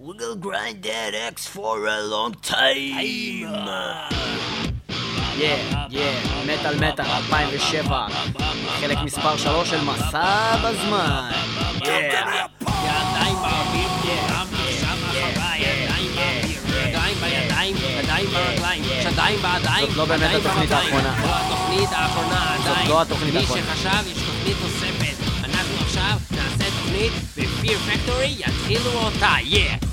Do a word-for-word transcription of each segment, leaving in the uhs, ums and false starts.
We will grind that X for a long time. Yeah, yeah, מטל מטל, אלפיים ושבע, חלק מספר שלוש של מסע בזמן. Yeah. ידיים באוויר, גם עכשיו אחריי, ידיים באוויר, ידיים בידיים, ידיים ברגליים, שדיים בידיים. זאת לא באמת התוכנית האחרונה. לא התוכנית האחרונה, עדיין. זאת לא התוכנית האחרונה. מי שחשב, יש תוכנית נוספת. אנחנו עכשיו נעשה תוכנית, ו-Fear Factory יתחילו אותה, yeah.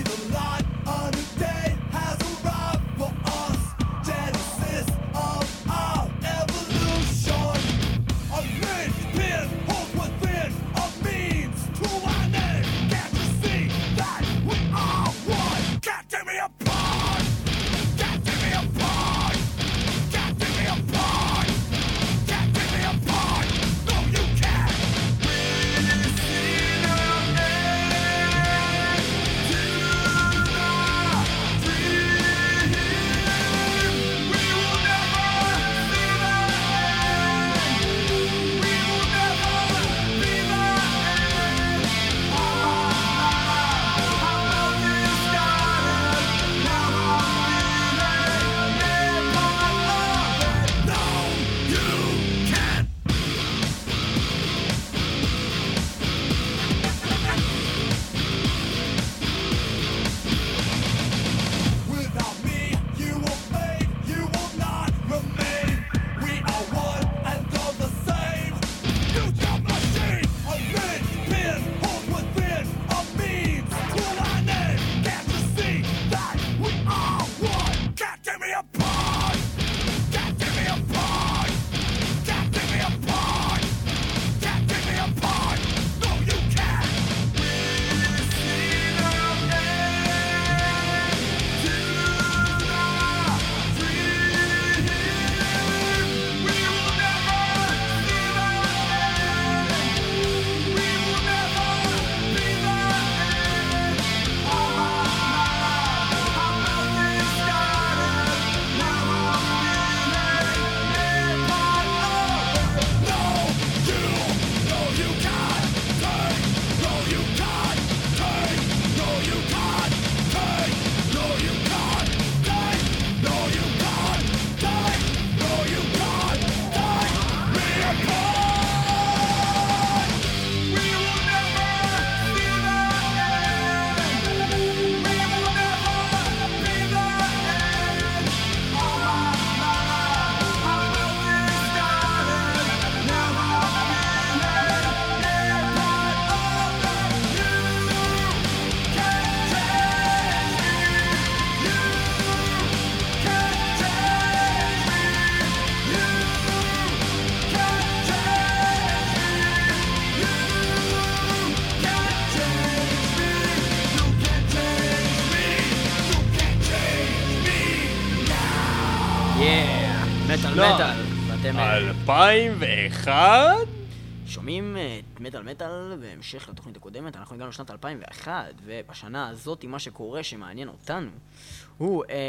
מטל מטל, ואתם אלפיים ואחת? שומעים את מטל מטל בהמשך לתוכנית הקודמת. אנחנו הגענו לשנת אלפיים ואחת, ובשנה הזאת מה שקורה שמעניין אותנו הוא אה,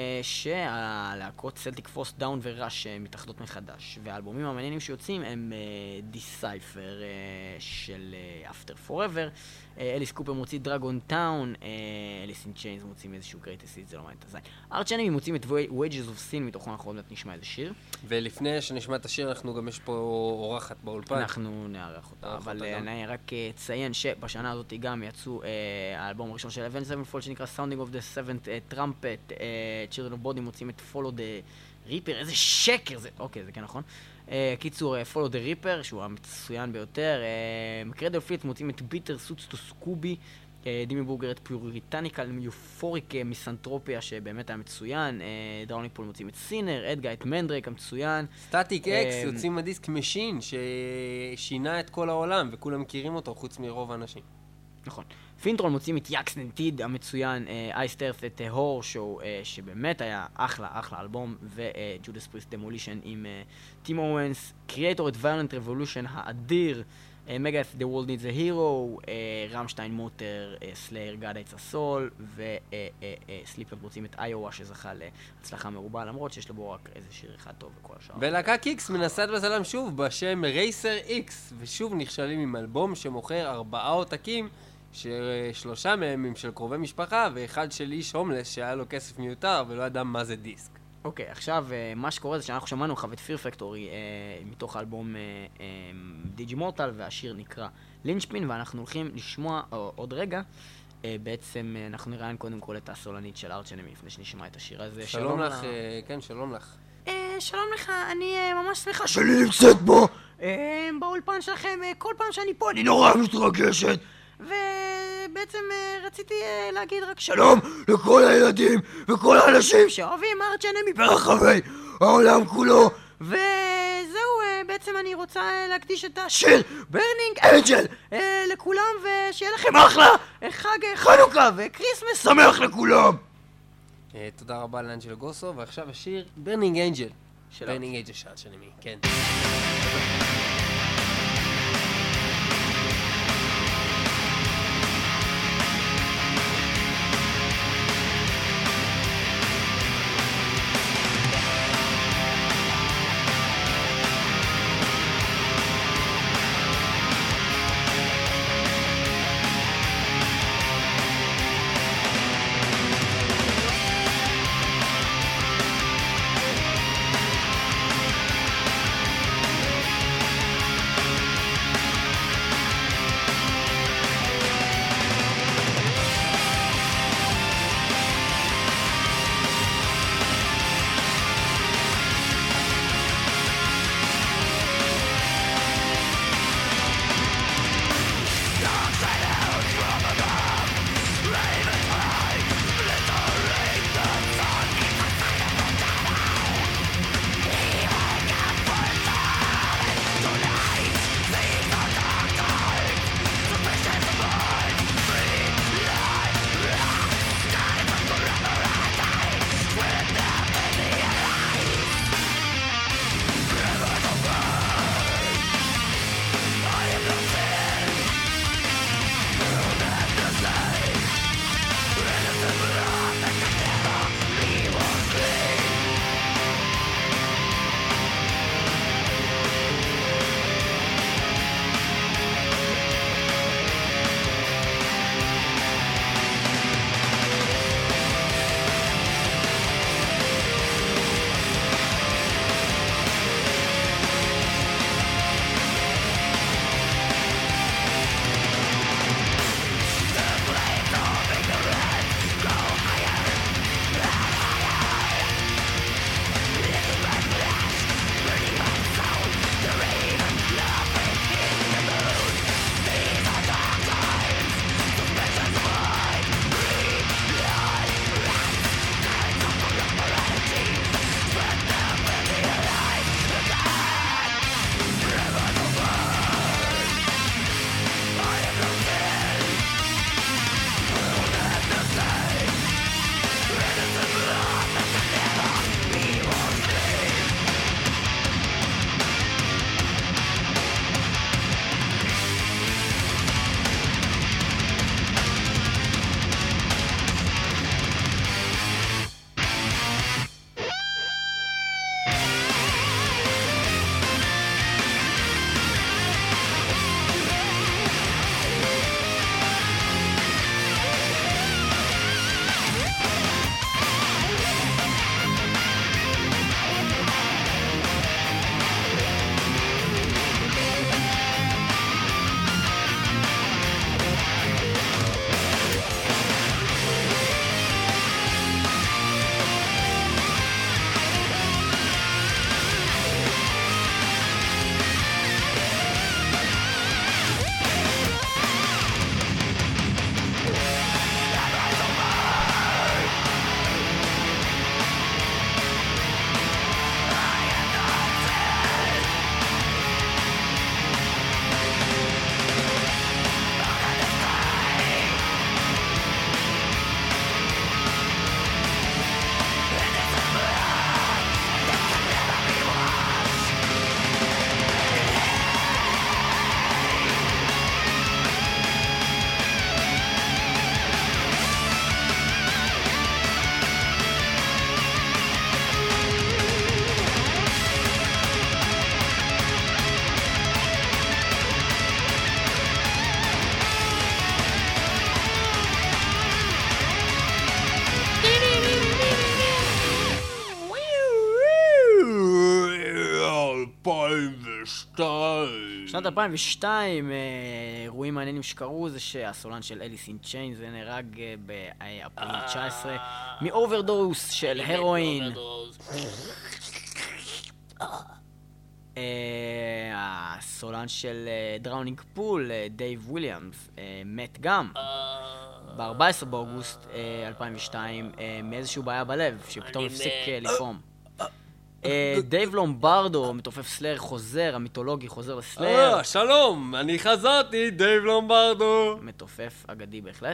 שהלהקות סלטיק פרוס, דאון וראש מתאחדות מחדש, והאלבומים המעניינים שיוצאים הם דיסייפר של אפטר פוראבר, אליס קופר מוציא דרגון טאון, אליס אין צ'יינס מוצאים איזשהו גרייטסט היטס, זה לא מעניין את הזין. ארץ' אנימי מוצאים את Wages of Sin, מתוכו אנחנו עוד מעט נשמע איזה שיר. ולפני שנשמע את השיר, אנחנו גם יש פה אורחת באולפן. אנחנו נערך אותה, אבל אני רק אציין שבשנה הזאת גם יצאו האלבום הראשון של Avenged Sevenfold שנקרא Sounding of the Seventh Trumpet, Children of Body מוצאים את Follow the Reaper, איזה שקר זה, אוקיי זה כן נכון. קיצור, Follow the Reaper שהוא המצוין ביותר, מקרדל פליט מוצאים את ביטר סוטס טו סקובי, דימי בורגר את פיוריטניקל יופוריק מיסנטרופיה שבאמת היה מצוין, דראוניפול מוצאים את סינר, אדגה את מנדרק המצוין, סטטיק אקס יוצאים מהדיסק משין ששינה את כל העולם וכולם מכירים אותו חוץ מרוב האנשים. נכון. פינטרול מוצאים את יקס ננטיד המצוין, אייסט ארת את הור שואו שבאמת היה אחלה אחלה אלבום, וג'ודס פריסט דמולישן עם טים אורנס, קריאטור את ויולנט רבולושן האדיר, מגאת' The World Needs a Hero, רמשטיין מוטר, סלייר גאד אייטס הסול, וסליפר מוצאים את איואה שזכה להצלחה מרובה, למרות שיש לו בו רק איזה שיר אחד טוב וכל השאר. ולהקה קיקס מנסת בזלם שוב בשם רייסר איקס, ושוב נכשלים עם אלבום שמוכר ארבעה עותקים ששלושה מהם הם של קרובי משפחה, ואחד של איש הומלס שהיה לו כסף מיותר ולא ידע מה זה דיסק. אוקיי, עכשיו מה שקורה זה שאנחנו שמענו לך את פיר פקטורי מתוך האלבום דיג'י מורטל, והשיר נקרא לינצ'פין, ואנחנו הולכים לשמוע עוד רגע. בעצם אנחנו נראיין קודם כל את הסולנית של ארץ' אנמי לפני שנשמע את השיר הזה. שלום לך, כן, שלום לך. שלום לך, אני ממש שמחה שלי נמצאת פה באולפן שלכם. כל פעם שאני פה אני נורא מתרגשת, ובעצם רציתי להגיד רק שלום לכל הילדים וכל האנשים שאוהבים ארץ' אנמי ברחבי העולם כולו. וזהו, בעצם אני רוצה להקדיש את השיר ברנינג אנג'ל לכולם, ושיהיה לכם אחלה חג חנוכה וקריסמס שמח לכולם. תודה רבה לאנג'ל גוסו, ועכשיו השיר ברנינג אנג'ל. ברנינג אנג'ל של ארץ' אנמי, כן. שנת אלפיים ושתיים, אירועים מעניינים שקרו זה שהסולן של אליס אין צ'יינס זה נהרג באפריל תשע עשרה מאוברדוס של הרואין. הסולן של דראונינג פול, דייב וויליאמס, מת גם ב-ארבעה עשר באוגוסט אלפיים ושתיים מאיזשהו בעיה בלב שפתאום הפסיק לפעום. דייב לומברדו, מתופף סלאר, חוזר, המיתולוגי חוזר לסלאר. אה, שלום, אני חזרתי, דייב לומברדו. מתופף אגדי בהחלט.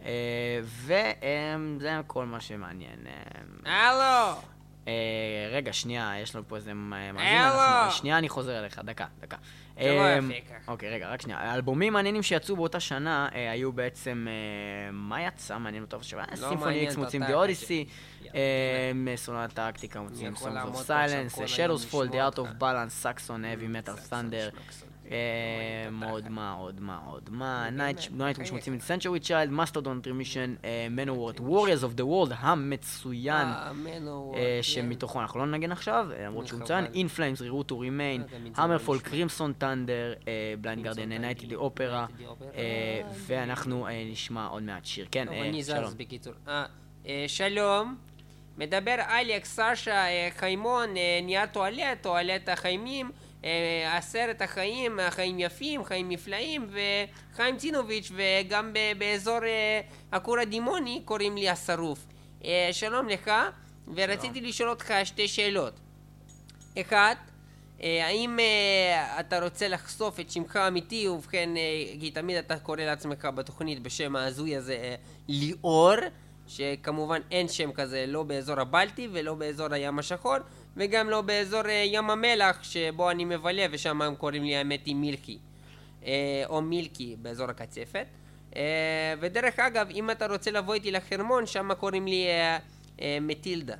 וזה כל מה שמעניין. הלו! רגע, שנייה, יש לנו פה איזה מאזין. הלו! שנייה, אני חוזר אליך, דקה, דקה. זה לא יפה ככה. אוקיי, רגע, רק שנייה. האלבומים מעניינים שיצאו באותה שנה היו בעצם... מה יצא? מעניין אותו שבה? סימפוני איקס מוצאים די אודיסי, סולנת טקטיקה מוצאים Songs of Silence, Shadows Fall, The Art of Balance, Saxon, Heavy Metal, Thunder, עוד מה, עוד מה, עוד מה, Nightwish מוצאים את Century Child, Mastodon Remission, Manowar, Warriors of the World המצוין, שמתוכו אנחנו לא נגן עכשיו, למרות שהוא מצוין, In Flames, Reroute to Remain, Hammerfall, Crimson Thunder, Blind Guardian, Night at the Opera, ואנחנו נשמע עוד מעט שיר. כן, שלום. שלום, מדבר אלכס, סשה, חיימון, נייר טואלט, טואלט החיימים, עשרת החיים, חיים יפים, חיים נפלאים, וחיים צינוביץ', וגם באזור הכור הדימוני קוראים לי השרוף. שלום לך, ורציתי לשאול אותך שתי שאלות. אחד, האם אתה רוצה לחשוף את שמך האמיתי, ובכן, כי תמיד אתה קורא לעצמך בתוכנית בשם ההזוי הזה ליאור, שכמובן אין שם כזה לא באזור הבלטי ולא באזור הים השחור, וגם לא באזור ים המלח שבו אני מבלה, ושם הם קוראים לי האמת היא מילקי, או מילקי באזור הקצפת. ודרך אגב, אם אתה רוצה לבוא איתי לחרמון, שם קוראים לי מטילדה.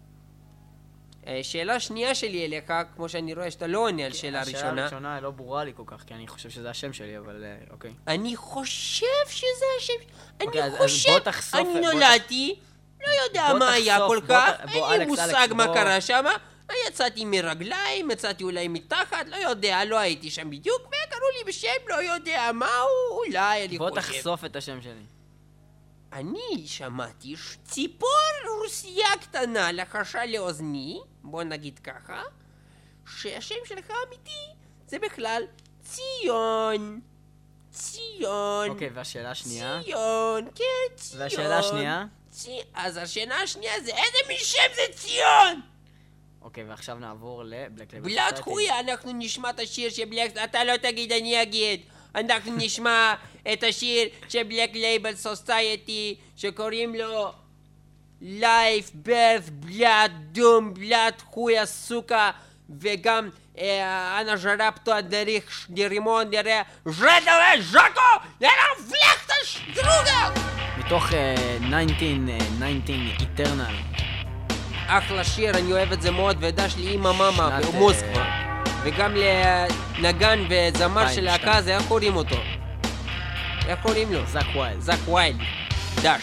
שאלה שנייה שלי אליך, כמו שאני רואה שאתה לא עונה על שאלה ראשונה. השאלה הראשונה לא ברורה לי כל כך, כי אני חושב שזה השם שלי, אבל אוקיי. אני חושב שזה השם, אני חושב, אני נולדתי, לא יודע מה היה כל כך, אין לי מושג מה קרה שם, יצאתי מרגליים, יצאתי אולי מתחת, לא יודע, לא הייתי שם בדיוק, וקראו לי בשם, לא יודע מהו, אולי אני חושב. בוא תחשוף את השם שלי. אני שמעתי שציפור רוסיה קטנה לחשה לאוזני, בוא נגיד ככה, שהשם שלך אמיתי זה בכלל ציון. ציון. אוקיי, והשאלה השנייה? ציון, כן, ציון. והשאלה השנייה? צי... אז השאלה השנייה זה איזה משם זה ציון? אוקיי, ועכשיו נעבור לבלק לייבל בלת חויה, אנחנו נשמע את השיר של בלק... אתה לא תגיד, אני אגיד. אנחנו נשמע את השיר של בלק לייבל סוסייטי שקוראים לו Life, Birth, Blood, Doom, Blood, חויה, סוכה, וגם אנה ז'רפטו הדריך דרימון דרי ז'דווה ז'קו לרפלקט השדרוגה מתוך תשע עשרה Eternal. אחלה שיר, אני אוהב את זה מאוד, ודש לי אמא מאמה במוסקבה, וגם לנגן וזמר של להקה הזה, איך קוראים אותו? איך קוראים לו? זק ווילד. זק ווילד. דש.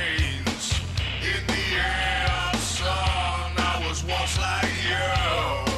Like you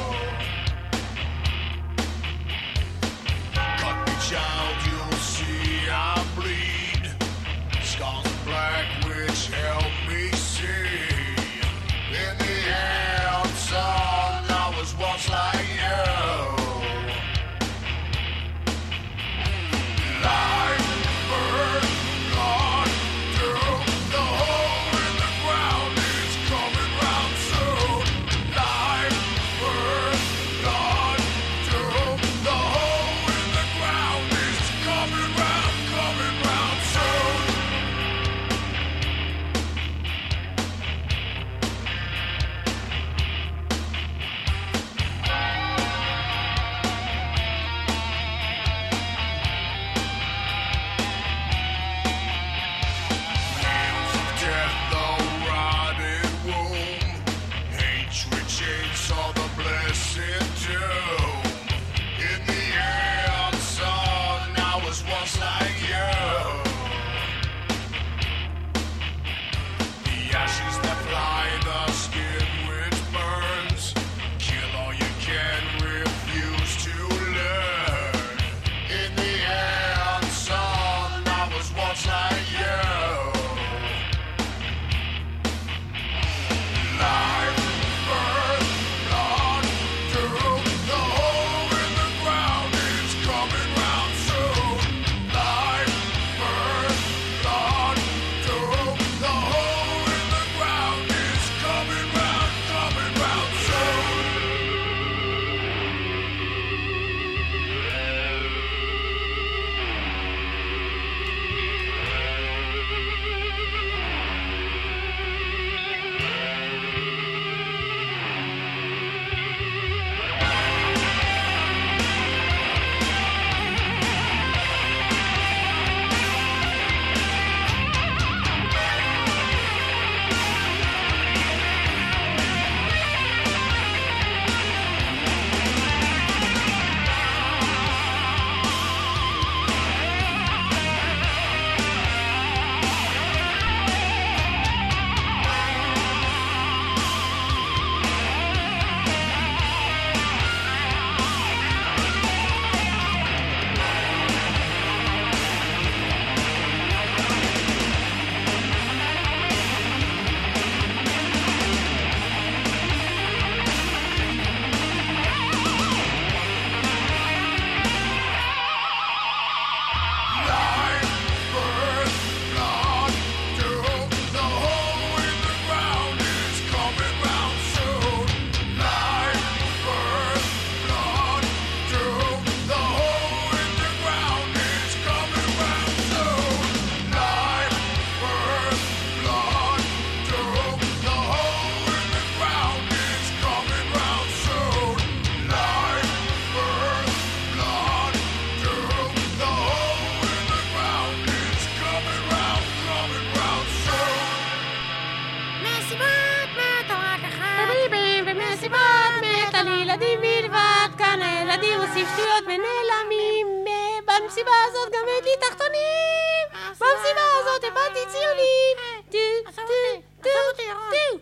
ילדים עושים שטויות ונעלמים. במסיבה הזאת גם אין לי תחתונים. במסיבה הזאת הבאתי ציונים. טו, טו, טו, טו.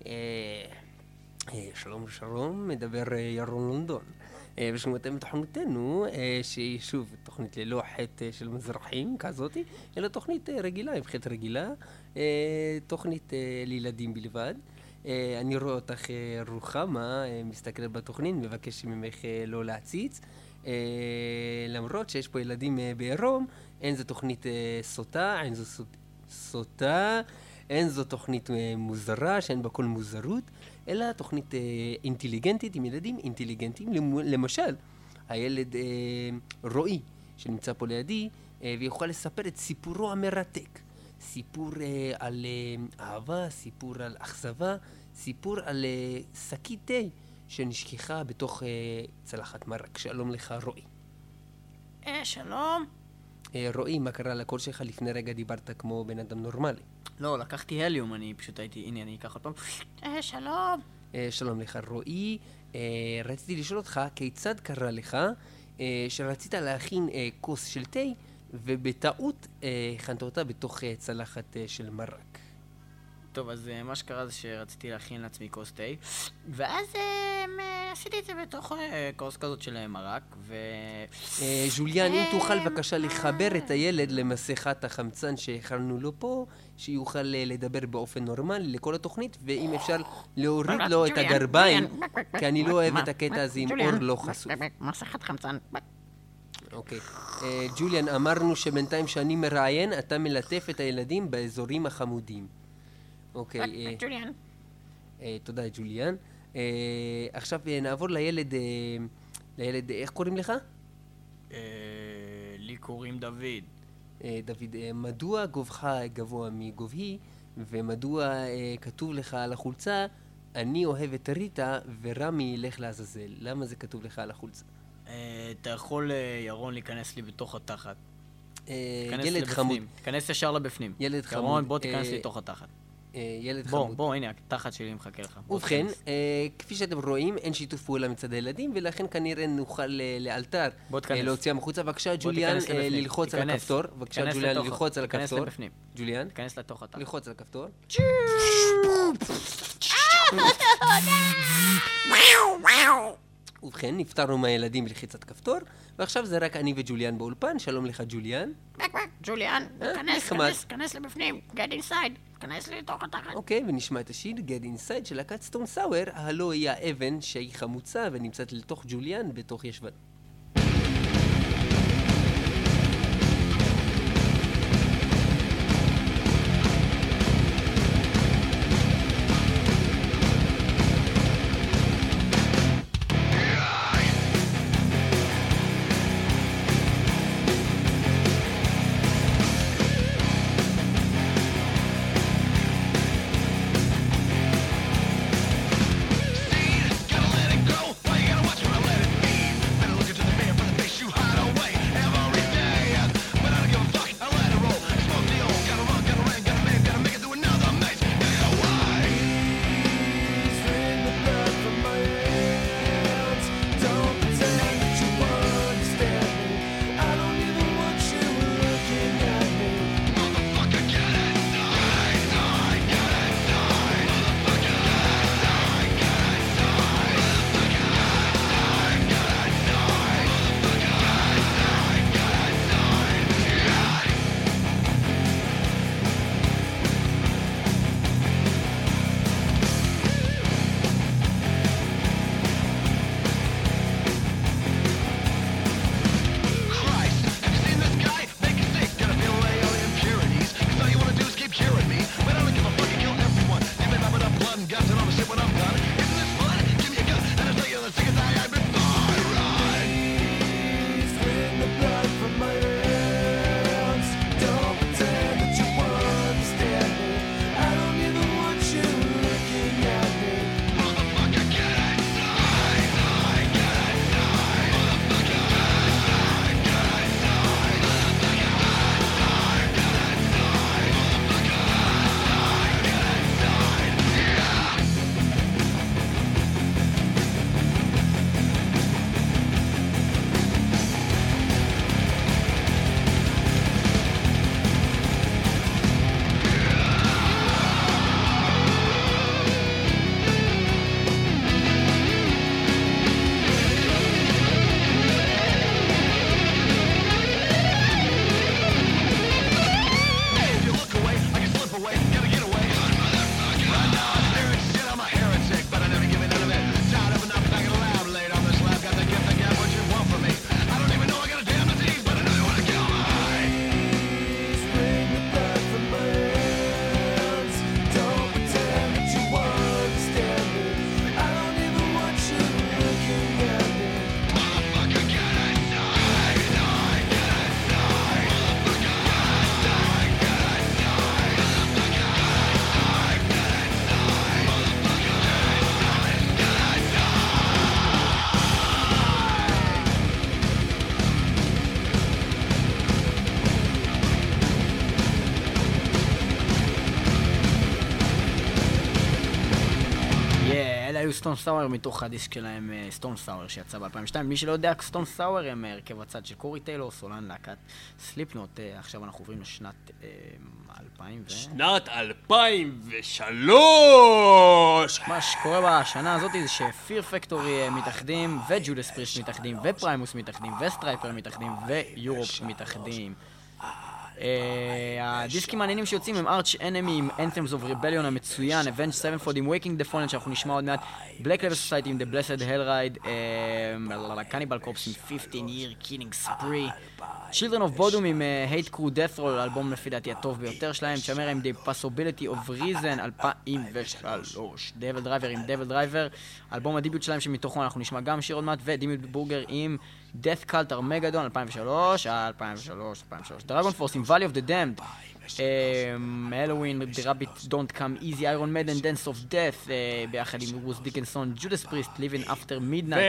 שלום שלום, מדבר ירון לונדון. ושמעתם תוכניתנו, שהיא שוב תוכנית ללא חטא של מזרחים כזאתי, אלא תוכנית רגילה, עם חטא רגילה, תוכנית לילדים בלבד. אני רואה אותך רוחמה, מסתכלת בתוכנית, מבקש ממך לא להציץ. למרות שיש פה ילדים בעירום, אין זו תוכנית סוטה, אין זו סוטה, אין זו תוכנית מוזרה, שאין בה כל מוזרות, אלא תוכנית אינטליגנטית עם ילדים אינטליגנטיים. למשל, הילד רועי, שנמצא פה לידי, ויוכל לספר את סיפורו המרתק. סיפור על אהבה, סיפור על אכזבה, סיפור על שקית תה שנשכחה בתוך צלחת מרק. שלום לך, רועי. אה, שלום. רועי, מה קרה לקול שלך? לפני רגע דיברת כמו בן אדם נורמלי. לא, לקחתי הליום, אני פשוט הייתי, הנה, אני אקח עוד פעם. אה, שלום. שלום לך, רועי. רציתי לשאול אותך, כיצד קרה לך שרצית להכין כוס של תה, ובטעות הכנת אותה בתוך צלחת של מרק? טוב, אז מה שקרה זה שרציתי להכין לעצמי כוס תה, ואז עשיתי את זה בתוך כוס כזאת של מרק, ו... ז'וליאן, אם תוכל בבקשה לחבר את הילד למסכת החמצן שהכנו לו פה, שיוכל לדבר באופן נורמלי לכל התוכנית, ואם אפשר להוריד לו את הגרביים, כי אני לא אוהב את הקטע הזה עם אור לא חשוף. מסכת חמצן. אוקיי. ג'וליאן, אמרנו שבינתיים שאני מראיין, אתה מלטף את הילדים באזורים החמודים. אוקיי. ג'וליאן. תודה, ג'וליאן. עכשיו נעבור לילד, לילד, איך קוראים לך? לי קוראים דוד. דוד, מדוע גובך גבוה מגובהי, ומדוע כתוב לך על החולצה, אני אוהב את ריטה ורמי ילך לעזאזל? למה זה כתוב לך על החולצה? אתה יכול, ירון, להיכנס לי בתוך התחת. ילד חמוד. תיכנס ישר לבפנים. ילד חמוד. ירון, בוא תיכנס לי לתוך התחת. ילד בוא, חמוד. בוא, הנה, התחת שלי מחכה לך. ובכן, כפי שאתם רואים, אין שיתוף פעולה מצד הילדים, ולכן כנראה נוכל לאלתר להוציא מחוצה. בבקשה, ג'וליאן, ללחוץ על הכפתור. בבקשה, ג'וליאן, ללחוץ על הכפתור. תיכנס לבפנים. ג'וליאן, תיכנס לתוך התחת. ללחוץ על הכפתור. ובכן, נפטרנו מהילדים בלחיצת כפתור, ועכשיו זה רק אני וג'וליאן באולפן. שלום לך, ג'וליאן. ג'וליאן, כנס, כנס, כנס לבפנים. Get inside. כנס לי לתוך התחת. אוקיי, ונשמע את השיר Get Inside של להקת סטון סאואר, הלא היא האבן שהיא חמוצה ונמצאת לתוך ג'וליאן בתוך ישבן. Gotta let it go, why you gotta watch me, I let it be. סטון סאואר מתוך הדיסק שלהם, סטון סאואר, שיצא ב-אלפיים ושתיים. מי שלא יודע, סטון סאואר הם הרכב הצד של קורי טיילור, סולן להקת סליפנוט. עכשיו אנחנו עוברים לשנת אלפיים ו... שנת אלפיים ושלוש! מה שקורה בשנה הזאת זה שפיר פקטורי מתאחדים, וג'ודס פריסט מתאחדים, ופריימוס מתאחדים, וסטרייפר מתאחדים, ויורופ מתאחדים. הדיסקים העניינים שיוצאים הם ארץ' אנמי עם Anthems of Rebellion המצוין, Avenged Sevenfold עם Waking the Fallen שאנחנו נשמע עוד מעט, Black Label Society עם The Blessed Hellride, Cannibal Corpse עם fifteen year Killing Spree, Children of Bodom עם Hate Crew Death Roll, האלבום לפי דעתי הטוב ביותר שלהם, צ'מרה עם The Possibility of Reason אלפיים ושלוש, Devil Driver עם Devil Driver, אלבום הדיביוט שלהם שמתוכו אנחנו נשמע גם שיר עוד מעט, ודימי בורגר עם Death Cult Armageddon אלפיים ושלוש, אלפיים ושלוש, אלפיים ושלוש, Dragon Force עם Valley of the Damned, Halloween, The Rabbit Don't Come Easy, Iron Maiden, Dance of Death, ביחד עם רוס דיקנסון, Judas Priest, Living After Midnight.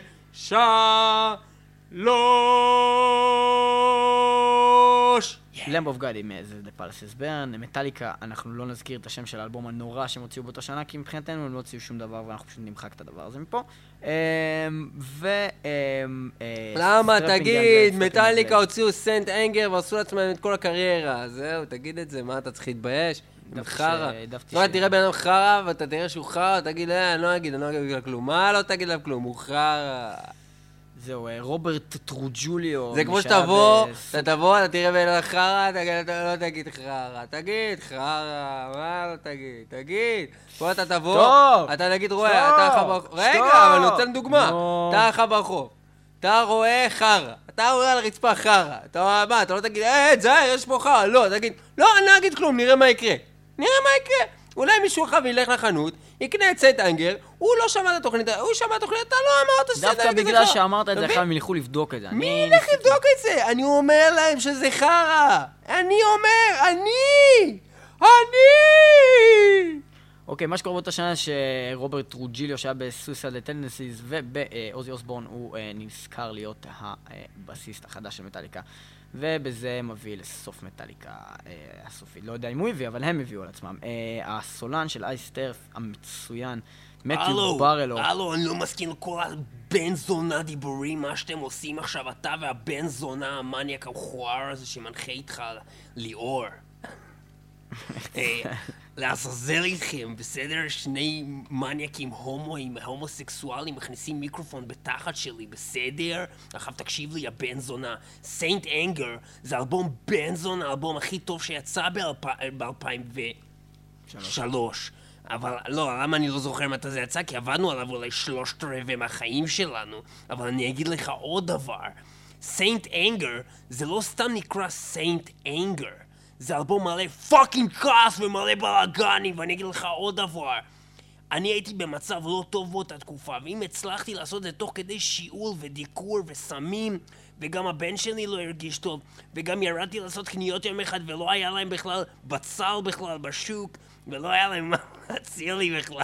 ושלוש! Lamb of God עם The Palaces Burn, מטאליקה, אנחנו לא נזכיר את השם של האלבום הנורא שהם הוציאו באותה שנה, כי מבחינתנו הם לא הוציאו שום דבר ואנחנו פשוט נמחק את הדבר הזה מפה. ו... למה? תגיד, מטאליקה הוציאו סנט אנגר ועשו לעצמם את כל הקריירה, זהו, תגיד את זה, מה אתה צריך להתבייש? חרא. לא, תראה בן אדם חרא ואתה תראה שהוא חרא, תגיד, אני לא אגיד, אני לא אגיד כלום. מה לא תגיד לה כלום? הוא חרא. זהו, רוברט טרוג'וליו. זה כמו שתבוא, אתה תבוא, אתה תראה בן אדם חרא, אתה לא תגיד חרא. תגיד חרא, מה לא תגיד? תגיד. פה אתה תבוא, אתה נגיד רואה, אתה אחר ברחוב. רגע, אבל אני נותן דוגמה. אתה אחר ברחוב. אתה רואה חרא. אתה רואה על הרצפה חרא. אתה מה, אתה לא תגיד, אה, זהר, יש פה חרא. לא, תגיד, לא, אני לא אגיד כלום, נראה מה יקרה. נראה מה יקרה. אולי מישהו אחר ילך לחנות, יקנה את סנט אנגר, הוא לא שמע את התוכנית, הוא שמע את התוכנית, אתה לא אמרת סנט אנגר. דווקא בגלל שאמרת את זה, הם ילכו לבדוק את זה. מי ילך לבדוק את זה? אני אומר להם שזה חרא. אני אומר, אני! אני! אוקיי, מה שקורה באותה שנה שרוברט טרוג'יליו שהיה בסויסייד טנדנסיז ובאוזי אוסבורן הוא נזכר להיות הבסיסט החדש של מטאליקה. ובזה מביא לסוף מטאליקה הסופית. לא יודע אם הוא הביא, אבל הם הביאו על עצמם. הסולן של אייסטרף המצוין, מתיו ברלו. הלו, אני לא מסכים לכל הבן זונה דיבורים, מה שאתם עושים עכשיו, אתה והבן זונה המניאק המכוער הזה שמנחה איתך ליאור. לעזאזל איתכם, בסדר? שני מניאקים הומואים, הומוסקסואלים, מכניסים מיקרופון בתחת שלי, בסדר? עכשיו תקשיב לי, הבן זונה. סיינט אנגר זה אלבום בן זונה, האלבום הכי טוב שיצא ב-אלפיים ושלוש. אבל לא, למה אני לא זוכר מתי זה יצא? כי עבדנו עליו אולי שלושת רבעי מהחיים שלנו. אבל אני אגיד לך עוד דבר. סיינט אנגר זה לא סתם נקרא סיינט אנגר. זה אלבום מלא פאקינג כעס ומלא בלאגנים, ואני אגיד לך עוד דבר. אני הייתי במצב לא טוב באותה תקופה, ואם הצלחתי לעשות את זה תוך כדי שיעול ודיקור וסמים, וגם הבן שלי לא הרגיש טוב, וגם ירדתי לעשות קניות יום אחד ולא היה להם בכלל בצל בכלל בשוק, ולא היה להם מה להציע לי בכלל.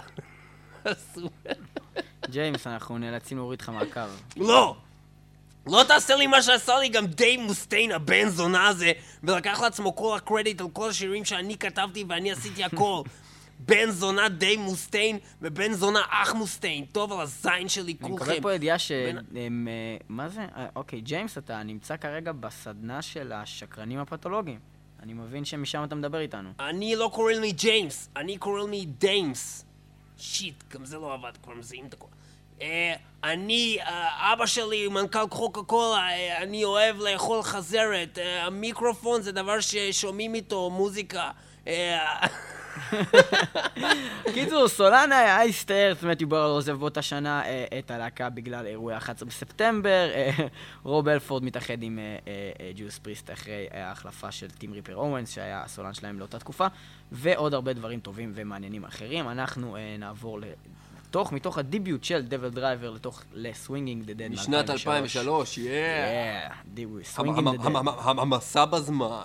ג'יימס, אנחנו נאלצים להוריד לך מהקו. לא! לא תעשה לי מה שעשה לי גם דייב מוסטיין, הבן זונה הזה, ולקח לעצמו כל הקרדיט על כל השירים שאני כתבתי ואני עשיתי הכל. בן זונה דייב מוסטיין ובן זונה אח מוסטיין. טוב על הזין שלי כולכם. אני מקבל פה ידיעה שהם... מה זה? אוקיי, ג'יימס, אתה נמצא כרגע בסדנה של השקרנים הפתולוגיים. אני מבין שמשם אתה מדבר איתנו. אני לא קורא לי ג'יימס, אני קורא לי דיימס. שיט, גם זה לא עבד, כבר מזהים את הכל. אני, אבא שלי, מנכ"ל קוקה קולה, אני אוהב לאכול חזרת, המיקרופון זה דבר ששומעים איתו מוזיקה. קיצור, סולן אייסטרף, מתיו ברלו עוזב באותה שנה את הלהקה בגלל אירועי ה-אחד עשר בספטמבר, רוב אלפורד מתאחד עם ג'ודס פריסט אחרי ההחלפה של טים ריפר אורנס שהיה הסולן שלהם לאותה תקופה, ועוד הרבה דברים טובים ומעניינים אחרים. אנחנו נעבור ל... תוך, מתוך הדיביוט של דבל דרייבר לתוך לסווינגינג דה דד משנת אלפיים ושלוש, יא! יא, דיביוט, סווינגינג דה דד. המסע בזמן.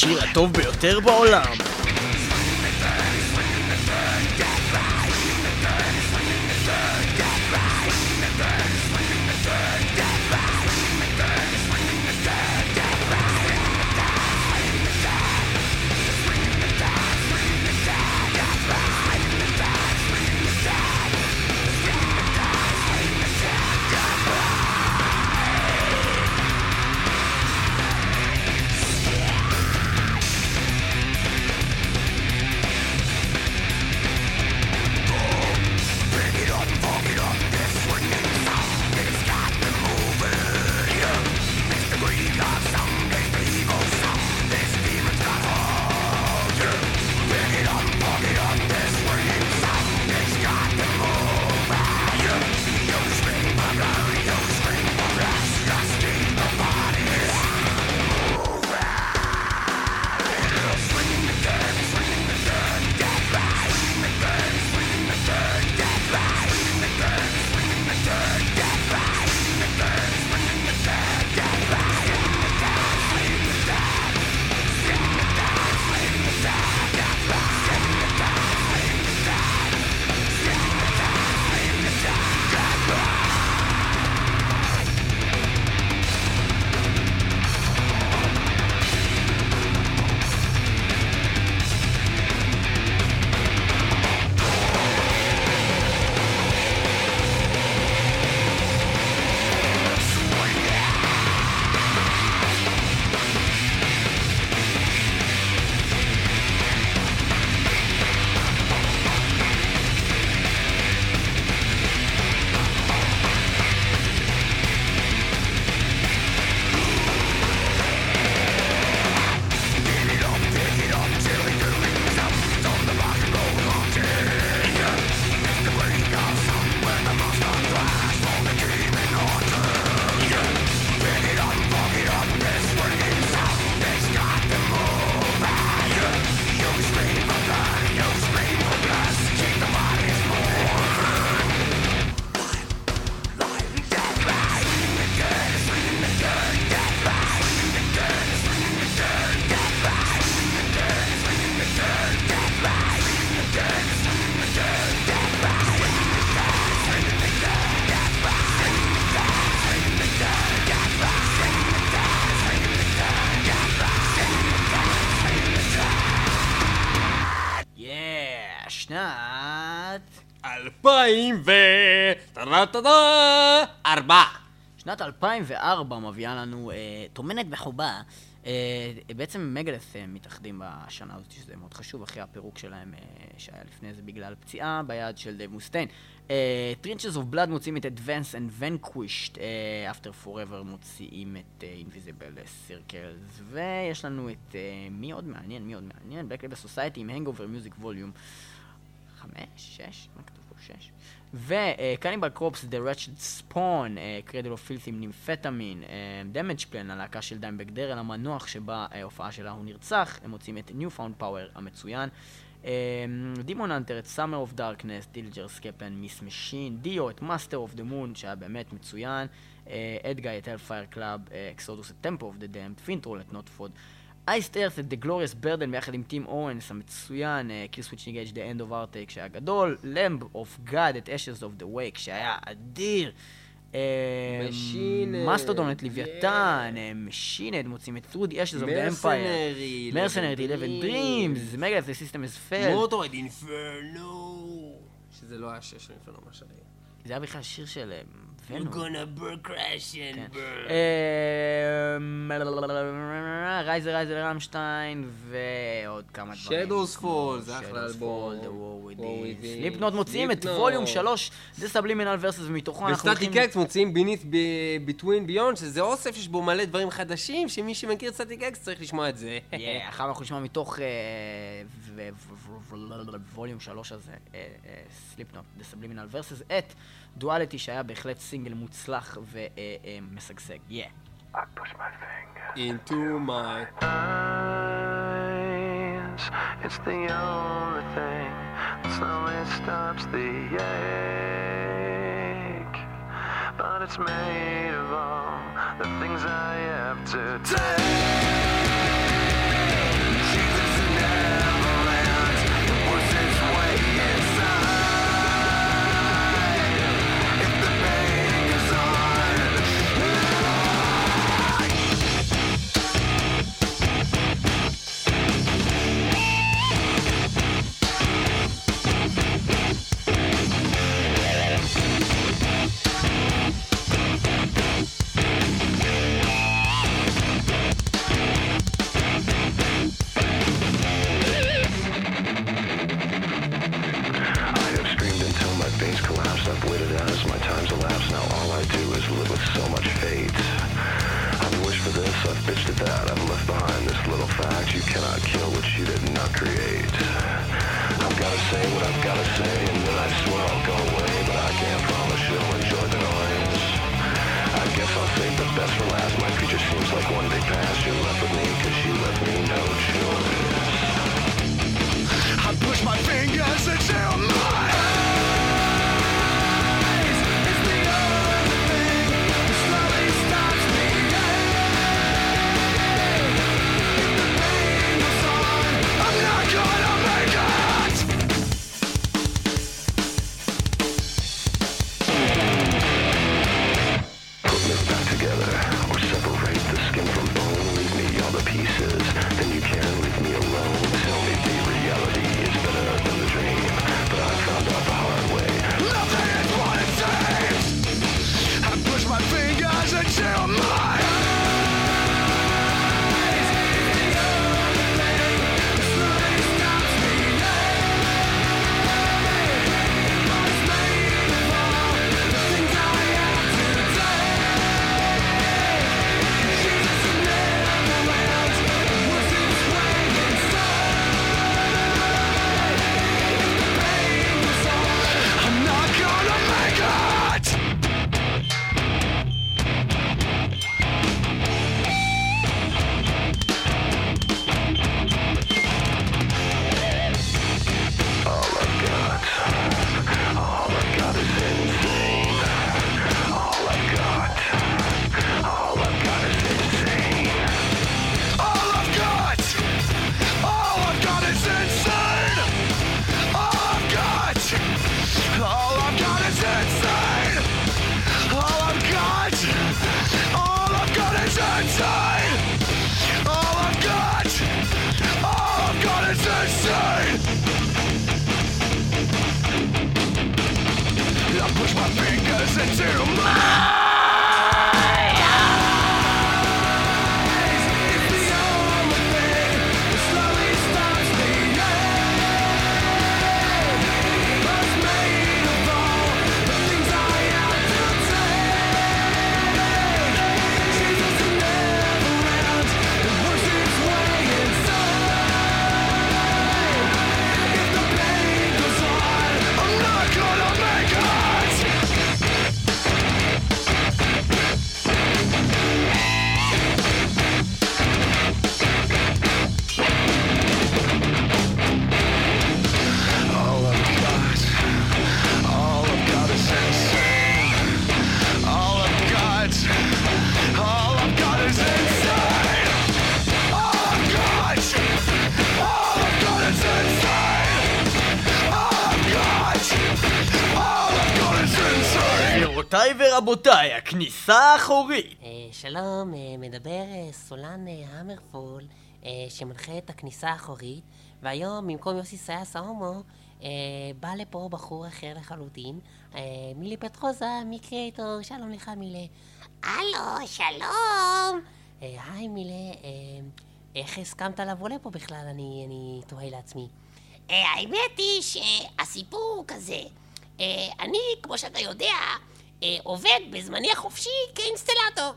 השיר הטוב ביותר בעולם. שנת אלפיים ו... טה-טה-טה! ארבע! שנת אלפיים וארבע מביאה לנו אה, תומנת בחובה. אה, בעצם מגלס אה, מתאחדים בשנה הזאת, שזה מאוד חשוב, אחרי הפירוק שלהם אה, שהיה לפני זה בגלל פציעה ביד של דייב מוסטיין. אה, Trenches of Blood מוציאים את Advance and Vanquished, אה, After Forever מוציאים את אה, Invisible Circles, ויש לנו את אה, מי עוד מעניין, מי עוד מעניין? Black Label Society עם Hangover Music Volume חמש, שש, מה כתוב פה? שש. ו-Cannibal Corpse, The Wretched Spawn, uh, Cradle of Filth עם נימפטמין, uh, Damage Plan, הלהקה של דיימבג דרל, המנוח שבה ההופעה uh, שלה הוא נרצח, הם מוצאים את Newfound Power המצוין, uh, Demon Hunter, את Summer of Darkness, Dillinger Skepan, Miss Machine, Dio, את Master of the Moon, שהיה באמת מצוין, אדגאי, את Hellfire Club, uh, Exodus, את Temple of the Damned, Fintroll, את Notfod, Iced Earth, את The Glorious Burden ביחד עם טים אורנס המצוין, uh, Kill Switch Engage, The End of Arctic שהיה גדול, Lamb of God, את Ashes of the Wake שהיה אדיר, מסטודון, את לוויתן, משינד, מוצאים את Through the Ashes of the Empire, Mercenary, eleven Dreams, Megalith, The System is Failed, Motorhead, Inferno, שזה לא היה שש של Inferno, מה שהיה. זה היה בכלל שיר של We're gonna burn, crash and burn. רייזר, רייזר, רמשטיין, ועוד כמה דברים. Shadows Fall, זה אחלה אלבום. The War Within. סליפנוט מוציאים את ווליום שלוש, The Subliminal Verses, ומתוכו אנחנו הולכים... וסטטיק אקס מוציאים Beneath Between Beyond, שזה אוסף שיש בו מלא דברים חדשים, שמי שמכיר את סטטיק אקס צריך לשמוע את זה. אחר אנחנו נשמע מתוך ווליום שלוש הזה, סליפנוט, The Subliminal Verses, את דואליטי שהיה בהחלט סינגל מוצלח ומשגשג. Yeah. I push my finger into my eyes. It's the only thing that slowly stops the ache. But it's made of all the things I have to take. גבירותיי ורבותיי, הכניסה האחורית. שלום, מדבר סולן המרפול שמנחה את הכניסה האחורית, והיום במקום יוסי סייס ההומו בא לפה בחור אחר לחלוטין, מילי פטרוזה מקריאטור. שלום לך מילי. הלו, שלום. היי מילי, איך הסכמת לבוא לפה בכלל? אני, אני תוהה לעצמי. האמת היא שהסיפור הוא כזה. אני, כמו שאתה יודע, עובד בזמני החופשי כאינסטלטור,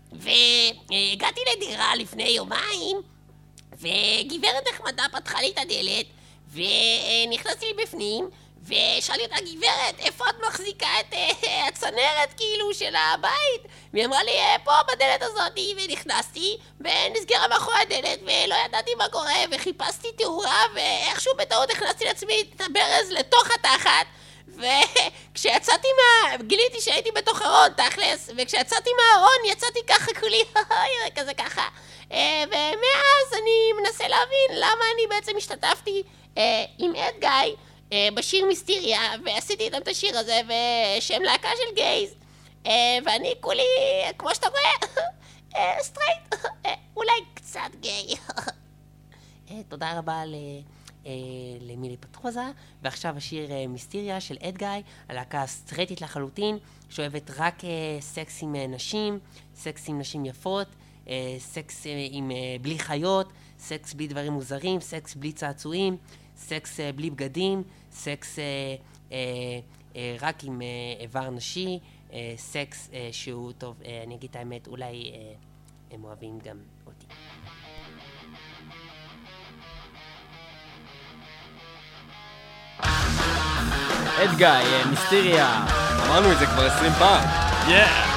והגעתי לדירה לפני יומיים, וגברת נחמדה פתחה לי את הדלת, ונכנסתי לי בפנים, ושאלתי אותה, גברת, איפה את מחזיקה את הצנרת כאילו של הבית? והיא אמרה לי, פה בדלת הזאת, ונכנסתי, ונסגרה מאחורי הדלת, ולא ידעתי מה קורה, וחיפשתי תאורה, ואיכשהו בטעות הכנסתי לעצמי את הברז לתוך התחת, וכשיצאתי מה... גיליתי שהייתי בתוך ארון, תכלס, וכשיצאתי מהארון יצאתי ככה כולי, כזה ככה. ומאז אני מנסה להבין למה אני בעצם השתתפתי עם אד גיא בשיר מיסטריה, ועשיתי איתם את השיר הזה, ושהם להקה של גייז, ואני כולי, כמו שאתה רואה, סטרייט, אולי קצת גיי. תודה רבה ל... למילי פטרוזה, ועכשיו השיר מיסטריה של אד גיא, הלהקה סטרייטית לחלוטין, שאוהבת רק סקס עם נשים, סקס עם נשים יפות, סקס עם בלי חיות, סקס בלי דברים מוזרים, סקס בלי צעצועים, סקס בלי בגדים, סקס רק עם איבר נשי, סקס שהוא טוב, אני אגיד את האמת, אולי הם אוהבים גם אותי. אד גיא, מיסטריה. אמרנו את זה כבר עשרים פעם. Yeah.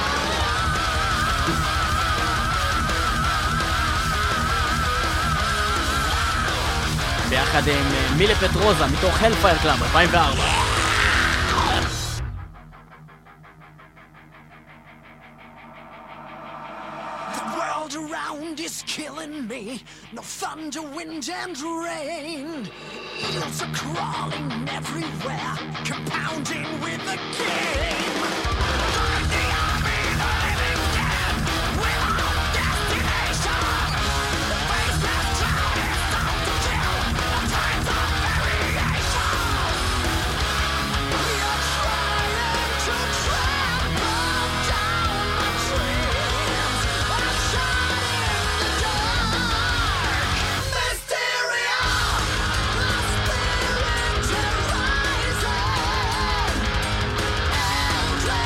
ביחד עם מילי פטרוזה מתוך הלפייר קלאב אלפיים וארבע. Around is killing me. No thunder, wind and rain. Eels are crawling everywhere, compounding with the game. I'm the army, the living dead, without destination. The faceless cloud is out to kill. The times of variation. We are trying to trample down the trees. I'm shot in the dark. Mysteria, the spirit rises. Eldritch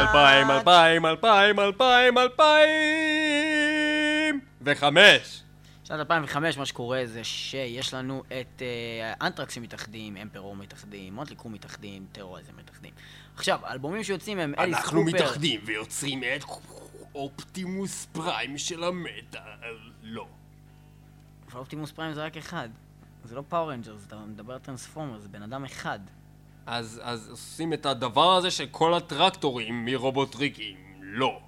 אלפיים, אלפיים, אלפיים, אלפיים, אלפיים וחמש. שנת אלפיים וחמש מה שקורה זה שיש לנו את uh, אנטרקסים מתאחדים, אמפרור מתאחדים, מוטלי קרו מתאחדים, טרוריזם מתאחדים. עכשיו, האלבומים שיוצאים הם אליס קופר. אנחנו מתאחדים ויוצרים את אופטימוס פריים של המטאל. לא. אבל אופטימוס פריים זה רק אחד. זה לא פאור רנג'רס, אתה מדבר על טרנספורמר, זה בן אדם אחד. אז, אז עושים את הדבר הזה של כל הטרקטורים מרובוטריקים. לא.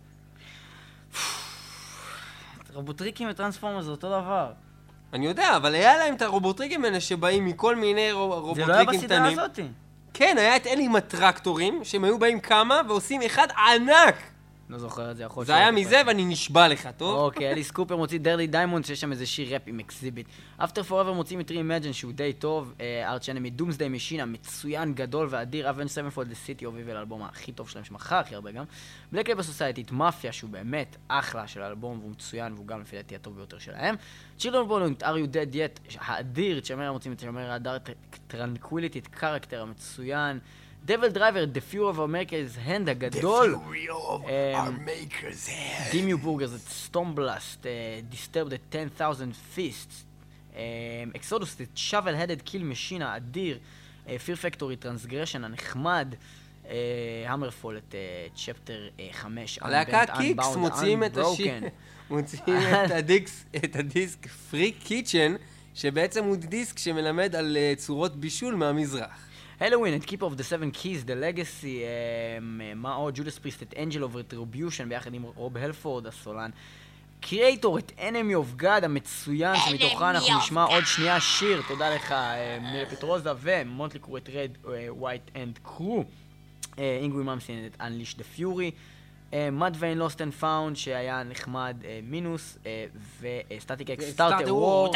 רובוטריקים וטרנספורמר זה אותו דבר. אני יודע, אבל היה להם את הרובוטריקים האלה שבאים מכל מיני רובוטריקים קטנים. זה לא היה בסדרה הזאתי. כן, היה את אלה עם הטרקטורים, שהם היו באים כמה ועושים אחד ענק. לא זוכר את זה, יכול... זה היה מזה ואני נשבע לך, טוב? אוקיי, אליס קופר מוציא דרלי דיימונד, שיש שם איזה שיר ראפ עם אקזיביט. אפטר פוראבר מוצאים את רי-אימג'ן שהוא די טוב, ארץ' אנמי דומסדיי משינה, מצוין, גדול ואדיר, אבן סבנפולד לסיטי אוף איבל, האלבום הכי טוב שלהם שמכר הכי הרבה גם. בלק לייבל סוסייטי, את מאפיה, שהוא באמת אחלה של האלבום, והוא מצוין, והוא גם לפי דעתי הטוב ביותר שלהם. צ'ילדרן בולונט, Are You Dead Yet, האדיר, צ'מרה מוצאים את צ'מרה האדר, טרנקוויליטי, את קרקטר המצוין. דבל דרייבר, The Fury of America's Hand הגדול. The Fury of America's Hand. דימיו בורגר, זה סטומבלאסט, Disturb the ten thousand Fists. אקסודוס, The Shovel-Headed Kill Machine האדיר. Fear Factory, Transgression הנחמד. המרפול, את צ'פטר חמש. הלהקה קיקס מוציאים את השיר. מוציאים את הדיסק פריק קיצ'ן, שבעצם הוא דיסק שמלמד על צורות בישול מהמזרח. הלווין, את Keeper of the Seven Keys, The Legacy, מה עוד? ג'ודס פריסט, את Angel of Retribution, ביחד עם רוב הלפורד, הסולן. קריאייטור, את Enemy of God, המצוין, שמתוכה אנחנו נשמע עוד שנייה שיר, תודה לך, מילה פטרוזה, ומונטלי קרו את Red, White and Crew, אינגווי ממסין, את Unleash the Fury, Mud Vein Lost and Found, שהיה נחמד מינוס, וסטטיק אקס, סטארטר וור,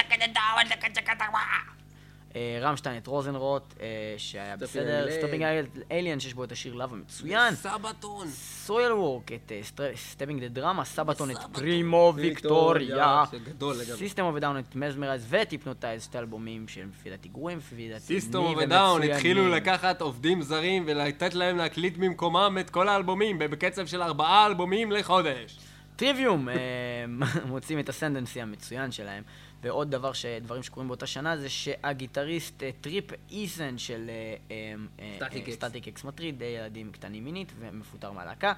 רמשטיין את רוזנרוט, שהיה בסדר, סטופינג אליאן, שיש בו את השיר לאב המצוין, סבתון, סויל וורק, את סטפינג דה דרמה, סבתון את פרימו ויקטוריה, סיסטם אוף דאון את מזמרייז וטיפנוטייז, שתי אלבומים שהם לפי דעתי גרועים, לפי דעתי סיסטם אוף דאון התחילו לקחת עובדים זרים ולתת להם להקליט במקומם את כל האלבומים בקצב של ארבעה אלבומים לחודש. טריוויום, מוצאים את הסנדנסי המצוין שלהם. ועוד דבר, דברים שקורים באותה שנה, זה שהגיטריסט טריפ איסן של סטטיק אקס מטריד, ילדים קטנים מינית ומפוטר מהלהקה.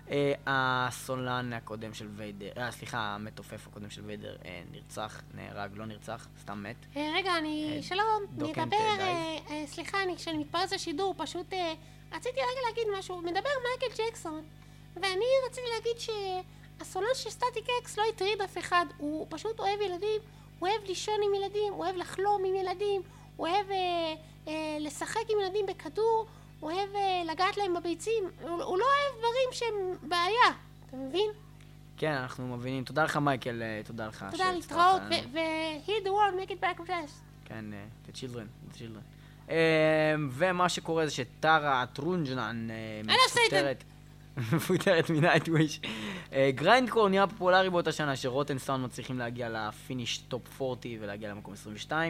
הסולן הקודם של ויידר, סליחה, המתופף הקודם של ויידר נרצח, נהרג, לא נרצח, סתם מת. רגע, אני, שלום, נדבר, סליחה, כשאני מתפרץ לשידור, פשוט רציתי רגע להגיד משהו, מדבר מייקל ג'קסון, ואני רציתי להגיד שהסולן של סטטיק אקס לא הטריד אף אחד, הוא פשוט אוהב ילדים, הוא אוהב לישון עם ילדים, הוא אוהב לחלום עם ילדים, הוא אוהב אה, אה, לשחק עם ילדים בכדור, הוא אוהב אה, לגעת להם בביצים, הוא, הוא לא אוהב דברים שהם בעיה, אתה מבין? כן, אנחנו מבינים. תודה לך מייקל, תודה לך. תודה, להתראות, ו-heal the world, make it back with us. כן, the children, the children. ומה שקורה זה שטרה טרונג'נן מפוטרת. מפוטרת מנייטוויש. גריינדקור נהיה פופולרי באותה שנה שרוטן סאונד מצליחים להגיע לפיניש טופ ארבעים ולהגיע למקום עשרים ושתיים.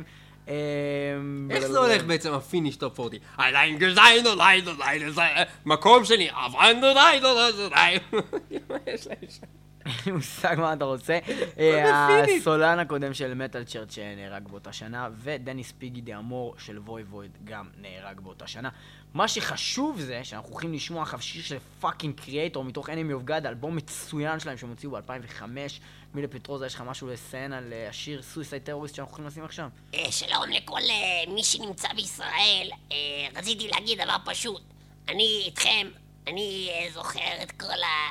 איך זה הולך בעצם הפיניש טופ ארבעים? איליין גזיין אוליין אוליין מקום שני אבן אוליין אוליין יש להם שם אין לי מושג מה אתה רוצה. הסולן הקודם של מטל צ'רץ' נהרג באותה שנה, ודניס פיגי דה אמור של ווי וויד גם נהרג באותה שנה. מה שחשוב זה שאנחנו הולכים לשמוע עכשיו שיר של פאקינג קריאייטור מתוך Enemy of God, אלבום מצוין שלהם שהם הוציאו ב-אלפיים וחמש. מילה פטרוזה, יש לך משהו לציין על השיר סויסייד טרוריסט שאנחנו הולכים לשים עכשיו? שלום לכל מי שנמצא בישראל. רציתי להגיד דבר פשוט. אני איתכם, אני זוכר את כל ה...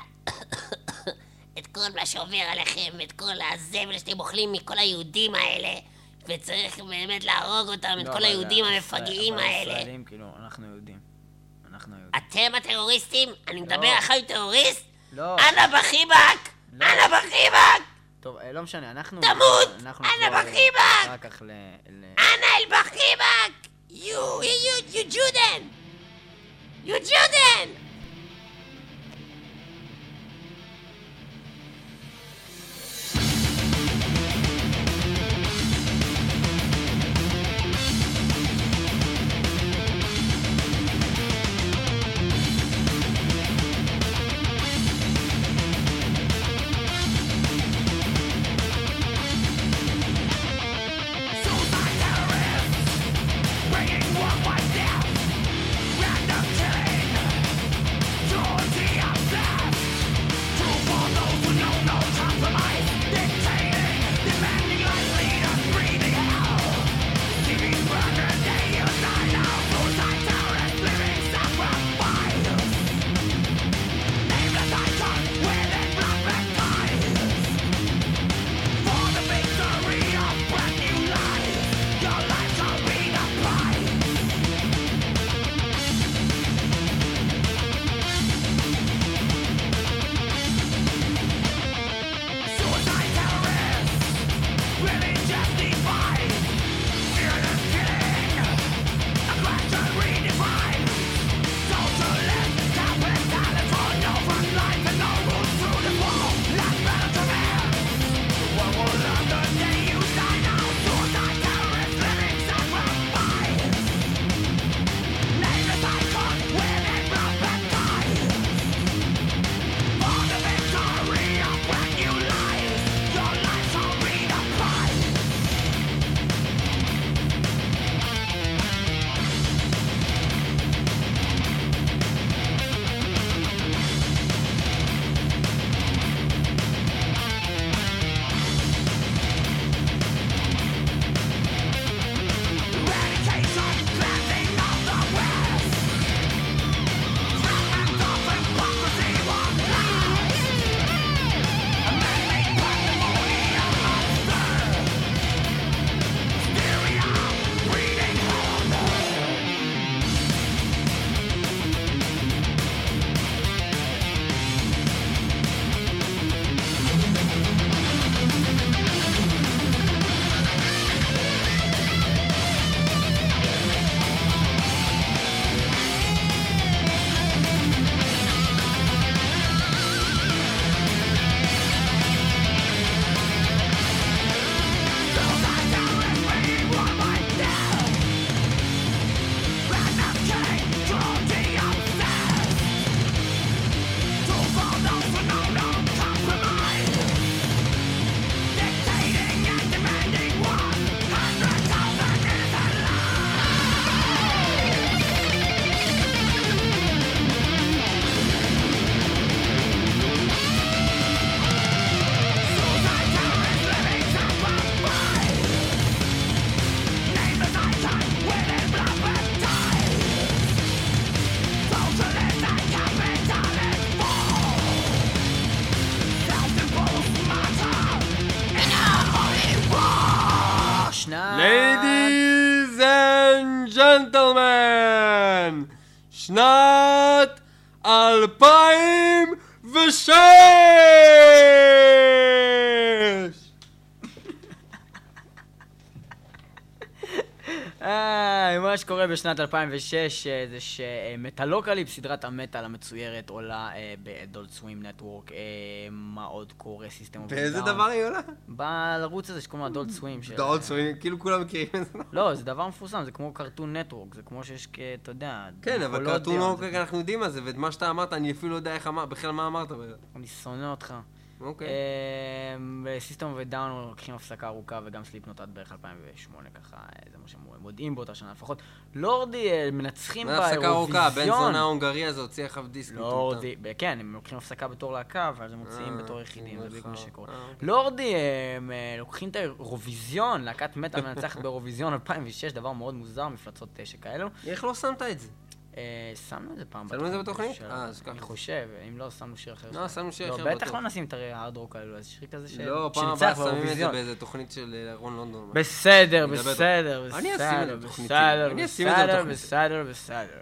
את כל מה שעובר עליכם, את כל הזבל שאתם אוכלים מכל היהודים האלה, וצריך באמת להרוג אותם, את כל היהודים המפגעים האלה. ישראלים, כאילו, אנחנו יהודים. אנחנו יהודים. אתם הטרוריסטים? אני מדבר אחרי טרוריסט? לא. אנה בחיבק! אנה בחיבק! טוב, לא משנה, אנחנו... תמות! אנה בחיבק! רק כך ל... אנה אל בחיבק! You, you, you Juden! You Juden! שנת אלפיים ושש! אה, מה שקורה בשנת אלפיים ושש זה שמטלוקליפס, סדרת המטל המצוירת, עולה באדולט סווים נטוורק. מה עוד קורה? סיסטם אוף באיזה דבר היא עולה? בערוץ הזה שקוראים לו אדולט סווים. אדולט סווים, כאילו כולם מכירים את זה. לא, זה דבר מפורסם, זה כמו קרטון נטוורק, זה כמו שיש, אתה יודע... כן, אבל קרטון נטוורק אנחנו יודעים מה זה, ואת מה שאתה אמרת, אני אפילו לא יודע איך אמרת, בכלל מה אמרת. אני שונא אותך. אוקיי. סיסטם אוף דאון לוקחים הפסקה ארוכה, וגם סליפנוט עד בערך אלפיים ושמונה, ככה, זה מה שהם מודיעים באותה שנה לפחות. לורדי מנצחים באירוויזיון. הפסקה ארוכה, בן זונה ההונגרי הזה הוציא אחריו דיסק. לורדי, כן, הם לוקחים הפסקה בתור להקה, ואז הם מוציאים בתור יחידים, זה בדיוק מה שקורה. לורדי לוקחים את האירוויזיון, להקת מטל מנצחת באירוויזיון אלפיים ושש, דבר מאוד מוזר, מפלצות שכאלו. איך לא שמת את זה? שמנו את זה פעם בתוכנית. שמנו את זה בתוכנית? אה, אז ככה. אני חושב, אם לא, שמנו שיר אחר. לא, שמנו שיר אחר בטוח. לא, בטח לא נשים את הארד רוק האלו, אז שיר כזה שנצח לא, פעם הבאה שמים את זה באיזה תוכנית של רון לונדון. בסדר, בסדר, אני אשים את זה בתוכנית. בסדר, בסדר, בסדר, בסדר.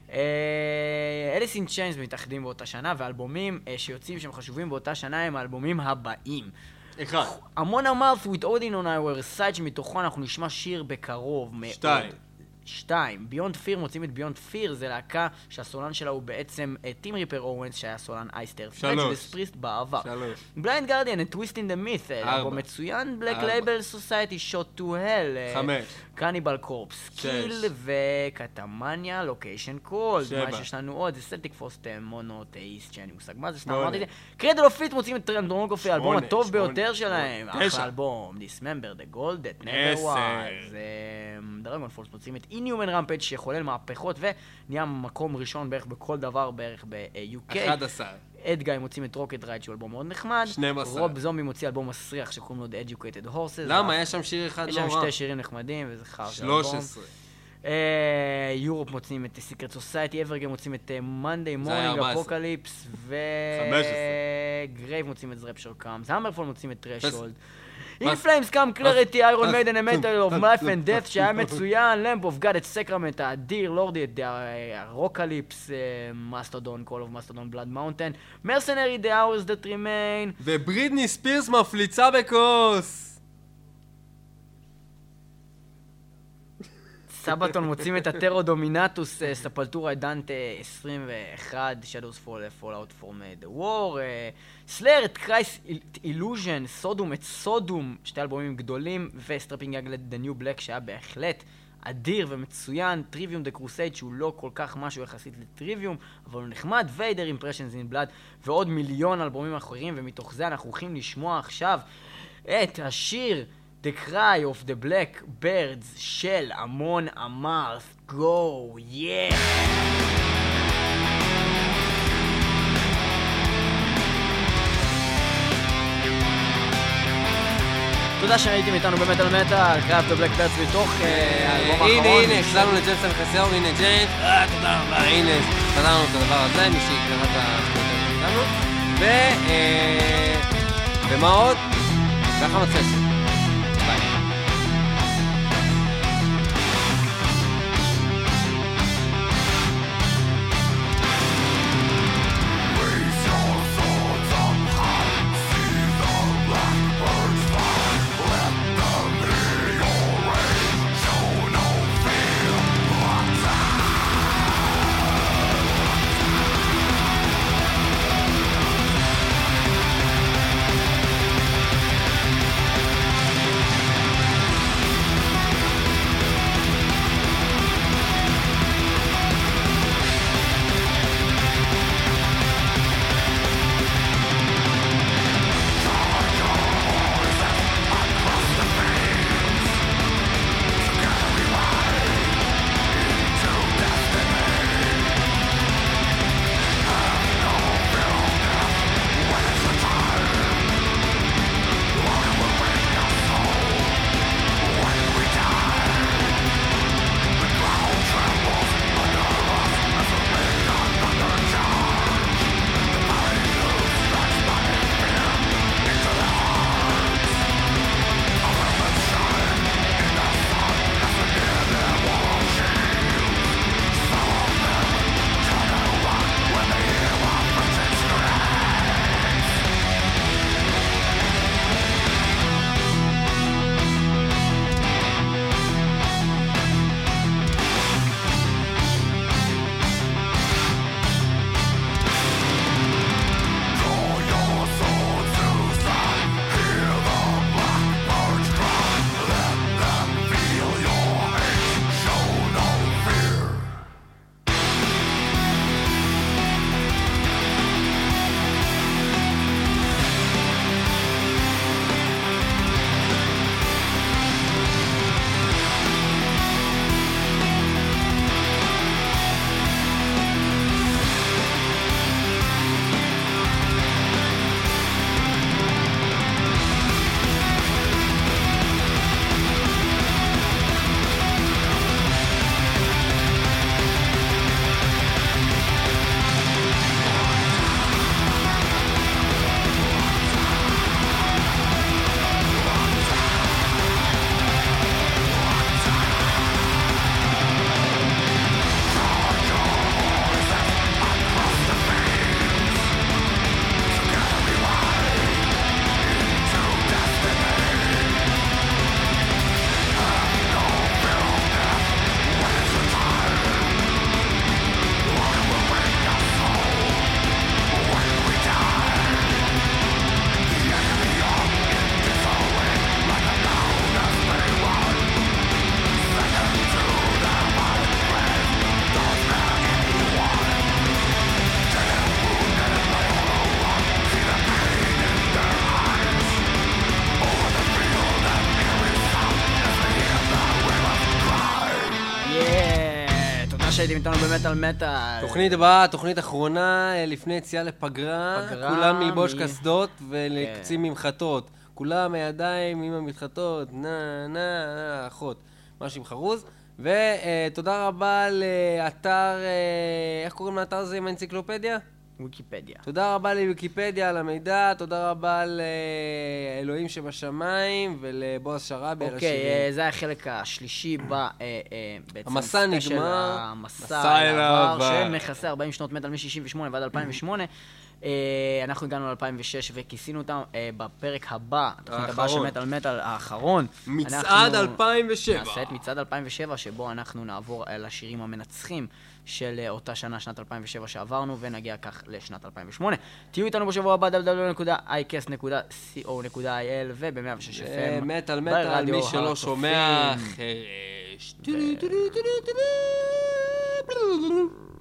אליס אין צ'יינס מתאחדים באותה שנה, ואלבומים שיוצאים שהם חשובים באותה שנה הם האלבומים הבאים. אחד. Amon Amarth with Odin on Our Side, שמתוכו אנחנו נשמע שיר בקרוב מאוד. שתיים. שתיים, ביונד פיר, מוצאים את ביונד פיר, זה להקה שהסולן שלה הוא בעצם טים ריפר אורנס, שהיה סולן אייסטר פרנץ' וספריסט בעבר. שלוש. בליינד גרדיאן, A Twist in the Myth, אלבום מצוין, בלק לייבל סוסייטי, Shot to Hell, חמש. קניבל קורפס, קיל וקטמניה, לוקיישן קולד, מה שיש לנו עוד, זה סלטיק פוסט מונותאיסט, שאין לי מושג מה זה, סתם אמרתי את זה. קרדל אוף פיט מוצאים את טרנדרונגופי, האלבום הטוב ביותר שלהם, אחלה אלבום, Dismember, The Gold That Never Was, דרגון פולס מוצאים את Inhuman Rampage שחולל מהפכות ונהיה מקום ראשון בערך בכל דבר בערך ב-יו קיי. אחד עשר. אדגאי מוצאים את רוקט רייד שהוא אלבום מאוד נחמד. שנים עשר. רוב זומבי מוציא אלבום מסריח שקוראים לו The Educated Horses. למה? יש שם שיר אחד לא רע. יש שם שתי שירים נחמדים וזה חר של אלבום. אלבום. שלוש עשרה. יורופ מוצאים את Secret Society, אברגן מוצאים את Monday Morning Apocalypse ו... חמש עשרה. גרייב מוצאים את Rapture Comes. המרפול מוצאים את Threshold. In Flames Come Clarity, Iron Maiden, A Metal of Life and Death, שהיה מצוין, Lamp of God, את סקרמנט, האדיר, לורדי, את הרוקליפס, Mastodon, Call of Mastodon, Blood Mountain, Mercenary, The Hours That Remain, וברידני ספירס מפליצה בכוס! סבתון מוצאים את הטרו דומינטוס, ספלטורה דנטה עשרים ואחת, Shadows Fall, Fallout from the War, סלאר את קרייס אילוז'ן, סודום את סודום, שתי אלבומים גדולים, וסטרפינג יאגלד The New Black שהיה בהחלט אדיר ומצוין, טריוויום דה קרוסייד שהוא לא כל כך משהו יחסית לטריוויום, אבל הוא נחמד, ויידר אימפרשנס אין בלאד, ועוד מיליון אלבומים אחרים, ומתוך זה אנחנו הולכים לשמוע עכשיו את השיר The Cry of the Black Birds של Amon Amarth. Go, yeah! תודה שהייתם איתנו במטל מטל, Cry of the Black Birds מתוך האלבום האחרון. הנה, הנה, החזרנו לג'יימס אלחסיאור, הנה ג'יימס. אה, תודה רבה. הנה, חזרנו את הדבר הזה, מי שיקרא את השמות שלנו. ו... ומה עוד? ככה מצא שם. שהייתם איתנו במטל מטל. תוכנית הבאה, תוכנית אחרונה, אה, לפני יציאה לפגרה. פגרה, כולם ללבוש מי- קסדות ולקצים ממחטות. כולם הידיים עם המתחתות, נה, נה, אחות. משהו עם חרוז. ותודה רבה לאתר, אה, איך קוראים לאתר הזה עם האנציקלופדיה? ויקיפדיה. תודה רבה לוויקיפדיה על המידע, תודה רבה לאלוהים שבשמיים ולבועז שראבי על אוקיי, השירים. אה, זה היה החלק השלישי ב... אה, אה, בעצם המסע ספיישל נגמר. המסע מסע אל אל העבר, העבר. שמכסה ארבעים שנות מטל מ-שישים ושמונה ועד אלפיים ושמונה. אה, אנחנו הגענו ל-אלפיים ושש וכיסינו אותם אה, בפרק הבא, התוכנית הבאה של האחרון. מטל מטל האחרון. מצעד אנחנו אלפיים ושבע. נעשה את מצעד אלפיים ושבע, שבו אנחנו נעבור על השירים המנצחים של אה, אותה שנה, שנת אלפיים ושבע שעברנו, ונגיע כך לשנת אלפיים ושמונה. תהיו איתנו בשבוע הבא, דאבליו דאבליו דאבליו נקודה איי קאסט נקודה סי או נקודה איי אל וב-מאה ושש אף אה, אם. מטל מטל, ברדיו מי שלא הר שומע, הצופים. חרש.